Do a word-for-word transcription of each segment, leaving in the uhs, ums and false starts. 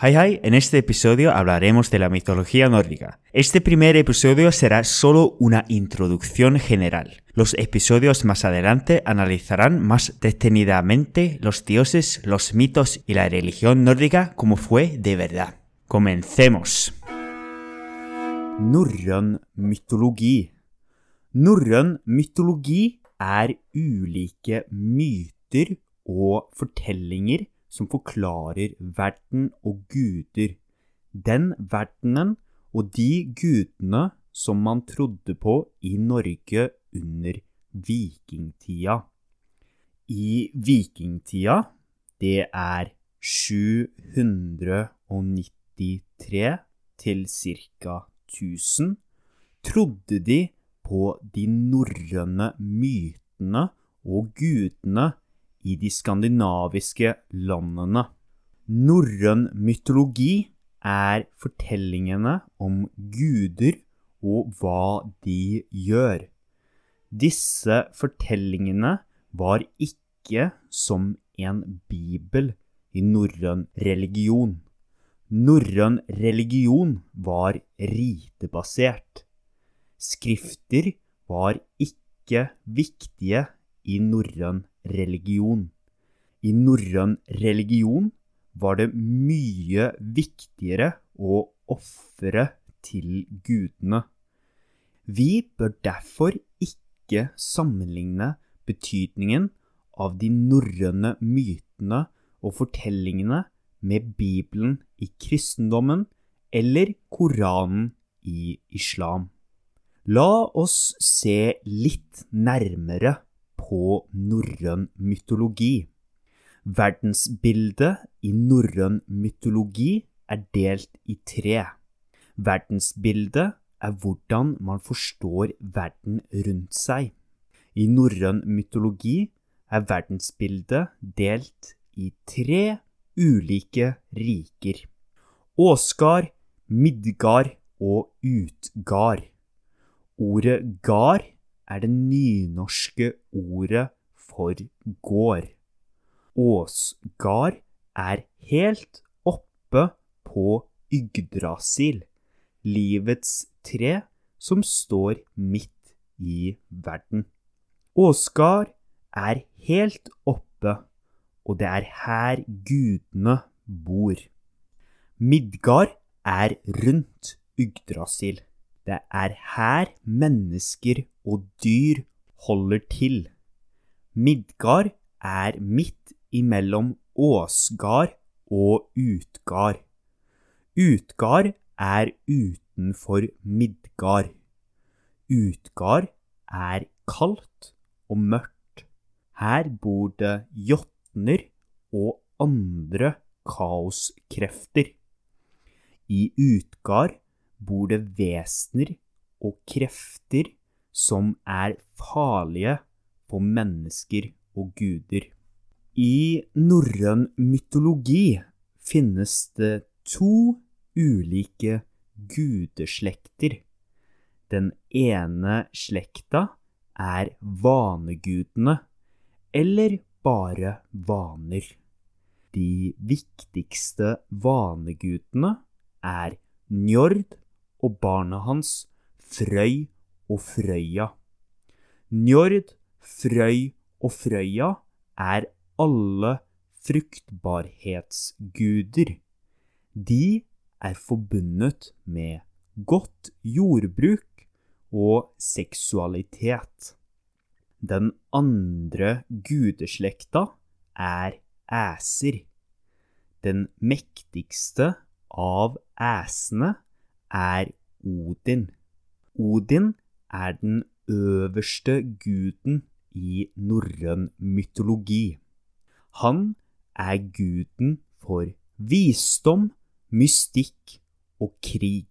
Hi hi, en este episodio hablaremos de la mitología nórdica. Este primer episodio será solo una introducción general. Los episodios más adelante analizarán más detenidamente los dioses, los mitos y la religión nórdica como fue de verdad. Comencemos. Norrøn mytologi. Norrøn mytologi er ulike myter og fortellinger som forklarer verden og guder. Den verdenen og de gudene som man trodde på i Norge under vikingtida. I vikingtida, det er sju hundre nittitre til cirka tusen, trodde de på de norrøne mytene og gudene i de skandinaviske landene. Norrøn mytologi er fortellingene om guder og hva de gjør. Disse fortellingene var ikke som en bibel i norrøn religion. Norrøn religion var ritebasert. Skrifter var ikke viktige i norrøn religion. I norrøn religion var det mye viktigere å offre til gudene. Vi bør derfor ikke sammenligne betydningen av de norrøne mytene og fortellingene med Bibelen i kristendommen eller Koranen i islam. La oss se litt nærmere på norrøn mytologi. Verdensbildet i norrøn mytologi er delt i tre. Verdensbildet er hvordan man forstår verden rundt seg. I norrøn mytologi er verdensbildet delt i tre ulike riker. Åsgard, Midgard og Utgard. Ordet gard er det nynorske ordet for gård. Åsgard er helt oppe på Yggdrasil, livets tre som står midt i verden. Åsgard er helt oppe, og det er her gudene bor. Midgard er rundt Yggdrasil. Det er her mennesker og dyr holder til. Midgard er midt imellom Åsgard og Utgard. Utgard er utenfor Midgard. Utgard er kaldt og mørkt. Her bor det jotner og andre kaoskrefter. I Utgard bor det vesener og krefter som er farlige for mennesker og guder. I norrøn mytologi finnes det to ulike gudeslekter. Den ene slekta er vanegudene, eller bare vaner. De viktigste vanegudene er Njord og barna hans, Frøy og Frøya. Njord, Frøy og Frøya er alle fruktbarhetsguder. De er forbundet med godt jordbruk og seksualitet. Den andre gudeslekta er æser. Den mektigste av æsene er Odin. Odin er den øverste guden i norrøn mytologi. Han er guden for visdom, mystikk og krig.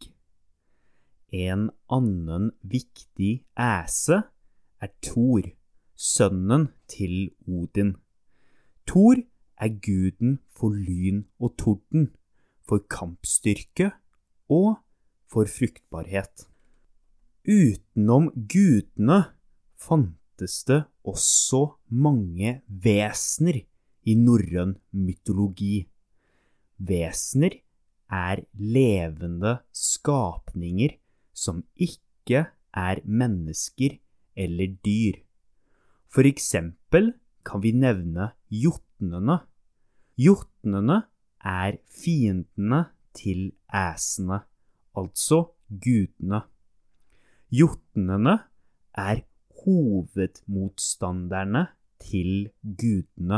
En annen viktig æse er Thor, sønnen til Odin. Thor er guden for lyn og torden, for kampstyrke og for fruktbarhet. Utenom gudene fantes det også mange vesener i norrøn mytologi. Vesener er levende skapninger som ikke er mennesker eller dyr. For eksempel kan vi nevne jotnene. Jotnene er fiendene til æsene, altså gudene. Jotnene er hovedmotstanderne til gudene.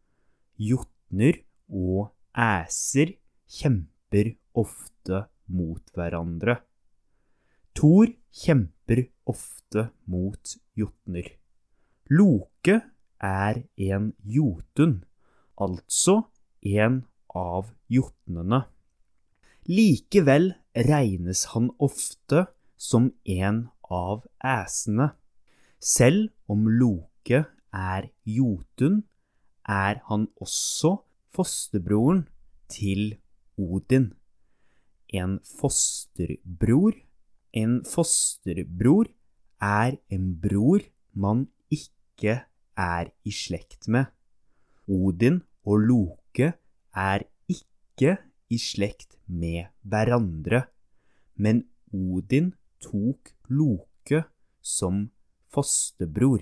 Jotner og æser kjemper ofte mot hverandre. Thor kjemper ofte mot jotner. Loke er en jotun, altså en av jotnene. Likevel regnes han ofte som en av æsene. Selv om Loke er jotun, er han også fosterbroren til Odin. En fosterbror. En fosterbror er en bror man ikke er i slekt med. Odin og Loke er ikke i slekt med hverandre, men Odin tok Loke som fosterbror.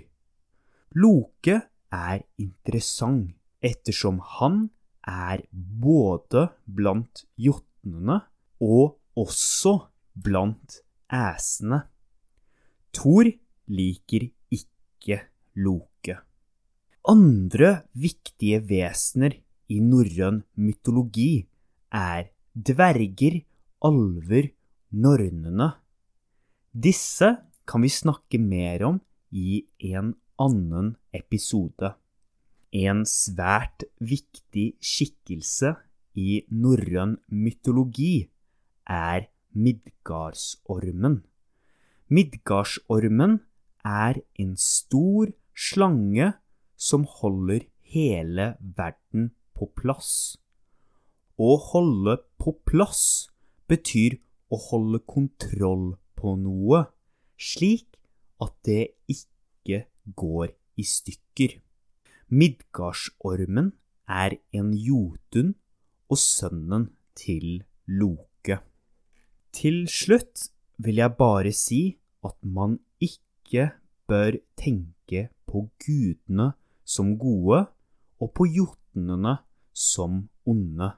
Loke er interessant ettersom han er både blant jotnene og også blant æsene. Thor liker ikke Loke. Andre viktige vesener i norrøn mytologi er dverger, alver, nornene. Disse kan vi snakke mer om i en annen episode. En svært viktig skikkelse i norrøn mytologi er Midgardsormen. Midgardsormen er en stor slange som holder hele verden på plass. Å holde på plass betyr å holde kontroll på noe, slik at det ikke går i stykker. Midgardsormen er en jotun og sønnen til Loke. Til slutt vil jeg bare si at man ikke bør tenke på gudene som gode og på jotnene som onde.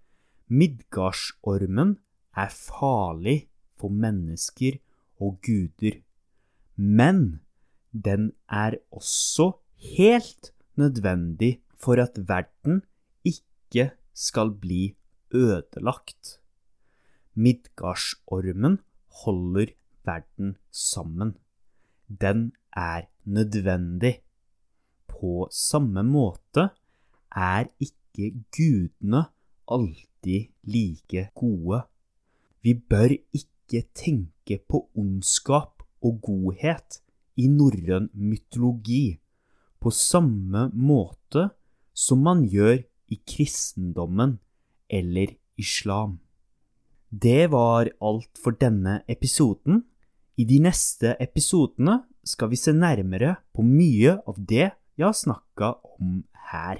Midgardsormen er farlig for mennesker og guder, men den er også helt nødvendig for at verden ikke skal bli ødelagt. Midgardsormen holder verden sammen. Den er nødvendig. På samme måte er ikke gudene alltid like gode. Vi bør ikke tenke på ondskap og godhet i norrøn mytologi på samme måte som man gjør i kristendommen eller islam. Det var alt for denne episoden. I de neste episodene skal vi se nærmere på mye av det jeg har snakket om her.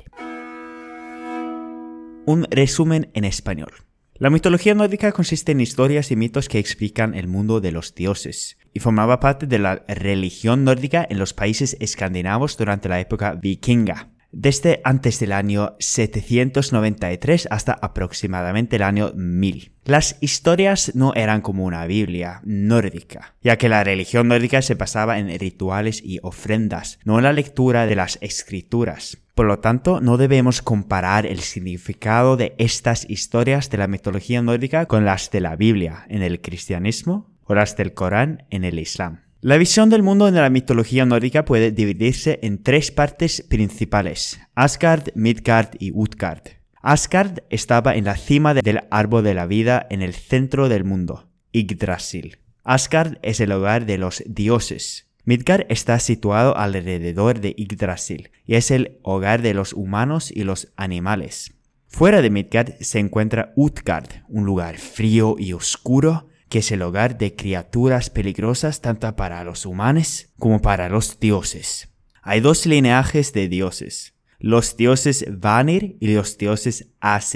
Un resumen en español. La mitología nórdica consiste en historias y mitos que explican el mundo de los dioses, y formaba parte de la religión nórdica en los países escandinavos durante la época vikinga, desde antes del año setecientos noventa y tres hasta aproximadamente el año mil. Las historias no eran como una Biblia nórdica, ya que la religión nórdica se basaba en rituales y ofrendas, no en la lectura de las escrituras. Por lo tanto, no debemos comparar el significado de estas historias de la mitología nórdica con las de la Biblia en el cristianismo o las del Corán en el Islam. La visión del mundo en la mitología nórdica puede dividirse en tres partes principales: Asgard, Midgard y Utgard. Asgard estaba en la cima del árbol de la vida en el centro del mundo, Yggdrasil. Asgard es el hogar de los dioses. Midgard está situado alrededor de Yggdrasil y es el hogar de los humanos y los animales. Fuera de Midgard se encuentra Utgard, un lugar frío y oscuro que es el hogar de criaturas peligrosas tanto para los humanos como para los dioses. Hay dos linajes de dioses, los dioses Vanir y los dioses Aesir.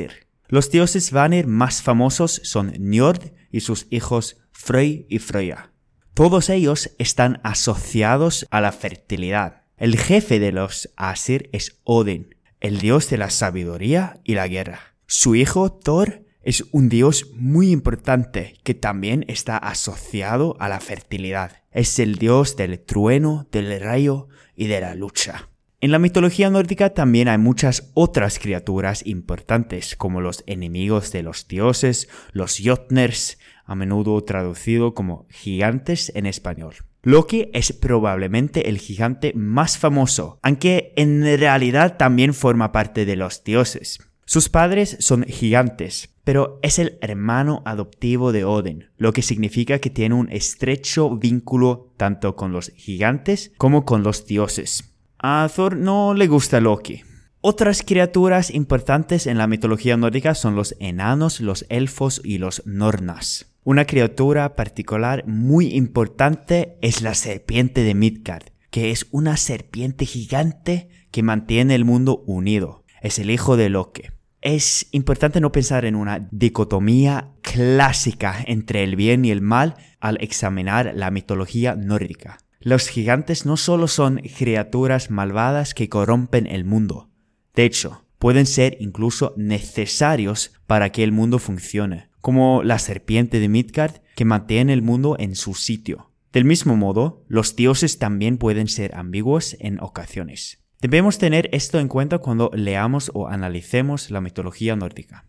Los dioses Vanir más famosos son Njord y sus hijos Frey y Freyja. Todos ellos están asociados a la fertilidad. El jefe de los Asir es Odin, el dios de la sabiduría y la guerra. Su hijo Thor es un dios muy importante que también está asociado a la fertilidad. Es el dios del trueno, del rayo y de la lucha. En la mitología nórdica también hay muchas otras criaturas importantes, como los enemigos de los dioses, los Jotners, a menudo traducido como gigantes en español. Loki es probablemente el gigante más famoso, aunque en realidad también forma parte de los dioses. Sus padres son gigantes, pero es el hermano adoptivo de Odin, lo que significa que tiene un estrecho vínculo tanto con los gigantes como con los dioses. A Thor no le gusta Loki. Otras criaturas importantes en la mitología nórdica son los enanos, los elfos y los nornas. Una criatura particular muy importante es la serpiente de Midgard, que es una serpiente gigante que mantiene el mundo unido. Es el hijo de Loki. Es importante no pensar en una dicotomía clásica entre el bien y el mal al examinar la mitología nórdica. Los gigantes no solo son criaturas malvadas que corrompen el mundo. De hecho, pueden ser incluso necesarios para que el mundo funcione, como la serpiente de Midgard que mantiene el mundo en su sitio. Del mismo modo, los dioses también pueden ser ambiguos en ocasiones. Debemos tener esto en cuenta cuando leamos o analicemos la mitología nórdica.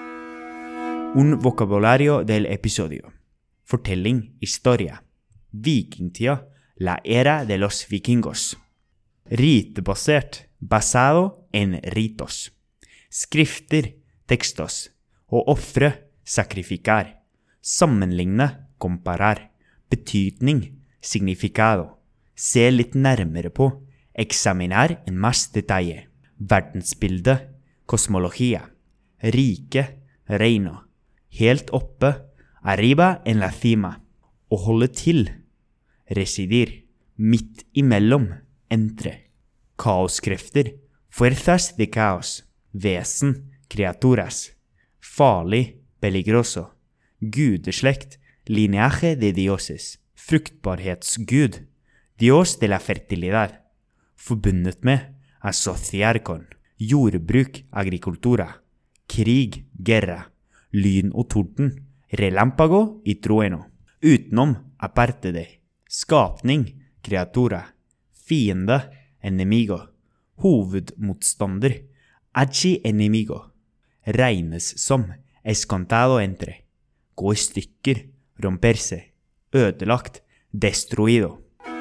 Un vocabulario del episodio. Fortelling, historia. Vikingtida, la era de los vikingos. Ritbasert, basado en ritos. Skrifter, textos. Og ofre, sacrificar. Sammenligne, comparar. Betydning, significado. Se litt nærmere på. Examinar en más detalle. Verdensbilde, kosmologia. Rike, reino. Helt oppe, arriba en la cima. Å holde til. Residir, midt imellom, entre. Kaoskrefter, fuerzas de caos. Vesen, criaturas. Farlig, peligroso. Gudeslekt, lineaje de dioses. Fruktbarhetsgud, dios de la fertilidad. Forbundet med, associar con. Jordbruk, agricultura. Krig, guerra. Lyn og torden, relámpago y trueno. Utenom, aparte de. Skapning, kreatura. Fiende, enemigo. Hovedmotstander, archi enemigo. Regnes som, es contado entre. Gå i stykker, romperse. Ødelagt, destruido.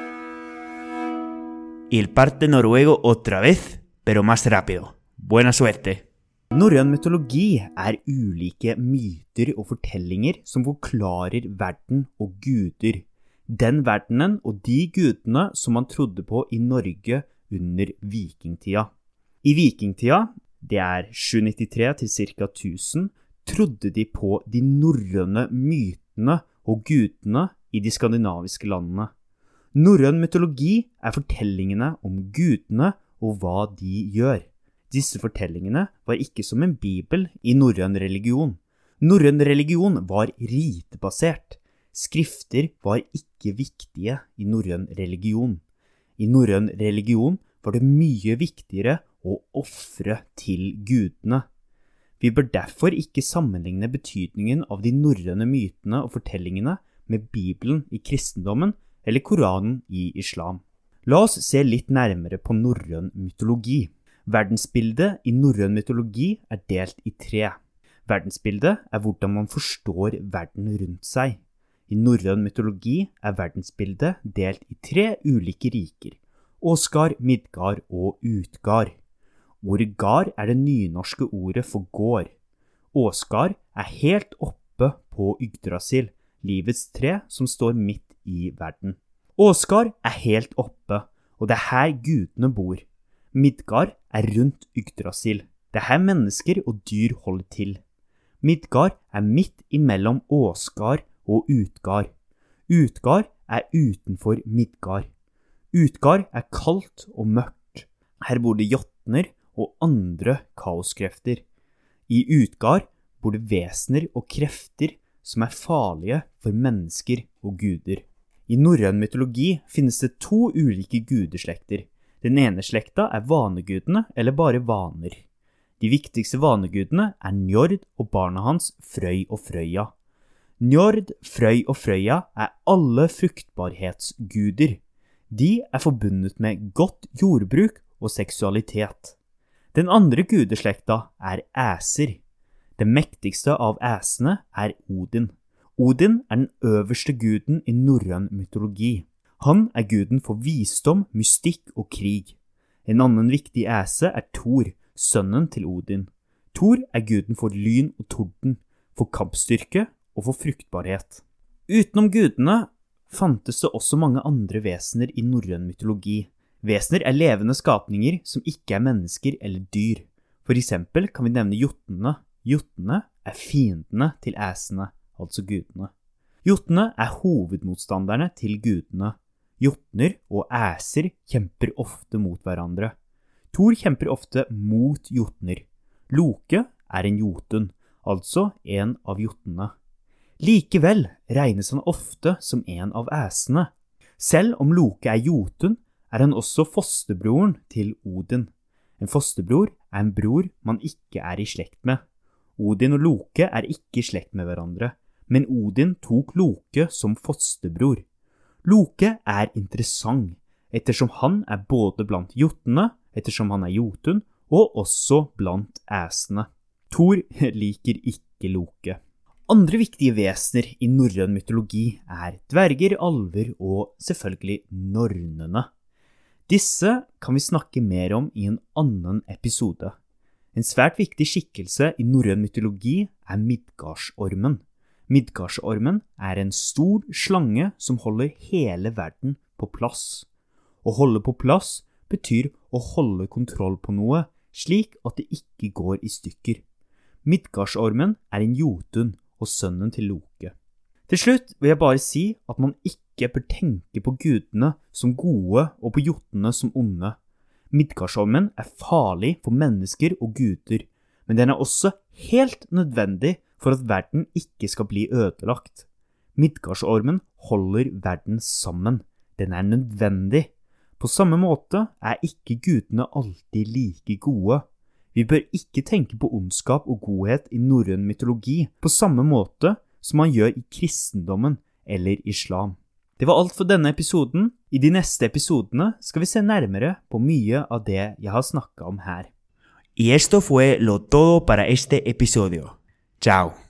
Y el parte noruego otra vez, pero más rápido. Buena suerte! Norrøn mytologi er ulike myter og fortellinger som forklarer verden og guder. Den verdenen og de gudene som man trodde på i Norge under vikingtida. I vikingtida, det er sju nittitre til ca. tusen, trodde de på de norrøne mytene og gudene i de skandinaviske landene. Norrøn mytologi er fortellingene om gudene og hva de gjør. Disse fortellingene var ikke som en bibel i norrøn religion. Norrøn religion var ritbasert. Skrifter var ikke viktige i norrøn religion. I norrøn religion var det mye viktigere å ofre til gudene. Vi bør derfor ikke sammenligne betydningen av de norrøne mytene og fortellingene med Bibelen i kristendommen eller Koranen i islam. La oss se litt nærmere på norrøn mytologi. Verdensbildet i norrøn mytologi er delt i tre. Verdensbildet er hvordan man forstår verden rundt seg. I norrøn mytologi er verdensbildet delt i tre ulike riker. Åsgard, Midgard og Utgard. Ordet gard er det nynorske ordet for gård. Åsgard er helt oppe på Yggdrasil, livets tre som står midt i verden. Åsgard er helt oppe, og det er her gudene bor. Midgard er rundt Yggdrasil. Det er her mennesker og dyr holder til. Midgard er midt imellom Åsgard og Utgard. Utgard er utenfor Midgard. Utgard er kaldt og mørkt. Her bor det jotner og andre kaoskrefter. I Utgard bor det vesener og krefter som er farlige for mennesker og guder. I norrøn mytologi finnes det to ulike gudeslekter. Den ene slekta er vanegudene eller bare vaner. De viktigste vanegudene er Njord og barna hans Frøy og Frøya. Njord, Frøy og Frøya er alle fruktbarhetsguder. De er forbundet med godt jordbruk og seksualitet. Den andre gudeslekta er æser. Den mektigste av æsene er Odin. Odin er den øverste guden i norrøn mytologi. Han er guden for visdom, mystikk og krig. En annen viktig æse er Thor, sønnen til Odin. Thor er guden for lyn og torden, for kampstyrke og for fruktbarhet. Utenom gudene fantes det også mange andre vesener i norrøn mytologi. Vesener er levende skapninger som ikke er mennesker eller dyr. For eksempel kan vi nevne jotnene. Jotnene er fiendene til æsene, altså gudene. Jotnene er hovedmotstanderne til gudene. Jotner og æser kjemper ofte mot hverandre. Thor kjemper ofte mot jotner. Loke er en jotun, altså en av jotnene. Likevel regnes han ofte som en av æsene. Selv om Loke er jotun, er han også fosterbroren til Odin. En fosterbror er en bror man ikke er i slekt med. Odin og Loke er ikke i slekt med hverandre, men Odin tok Loke som fosterbror. Loke er interessant, ettersom han er både blant jotnene, ettersom han er jotun, og også blant æsene. Thor liker ikke Loke. Andre viktige vesener i norrøn mytologi er dverger, alver og selvfølgelig nornene. Disse kan vi snakke mer om i en annen episode. En svært viktig skikkelse i norrøn mytologi er Midgardsormen. Midgardsormen er en stor slange som holder hele verden på plass. Å holde på plass betyr å holde kontroll på noe, slik at det ikke går i stykker. Midgardsormen er en jotun og sønnen til Loke. Til slutt vil jeg bare si at man ikke bør tenke på gudene som gode og på jotnene som onde. Midgardsormen er farlig for mennesker og guder, men den er også helt nødvendig for at verden ikke skal bli ødelagt. Midgardsormen holder verden sammen. Den er nødvendig. På samme måte er ikke gudene alltid like gode. Vi bør ikke tenke på ondskap og godhet i norrøn mytologi på samme måte som man gjør i kristendommen eller islam. Det var alt for denne episoden. I de neste episodene skal vi se nærmere på mye av det jeg har snakket om her. Y esto fue lo todo para este episodio. Chao.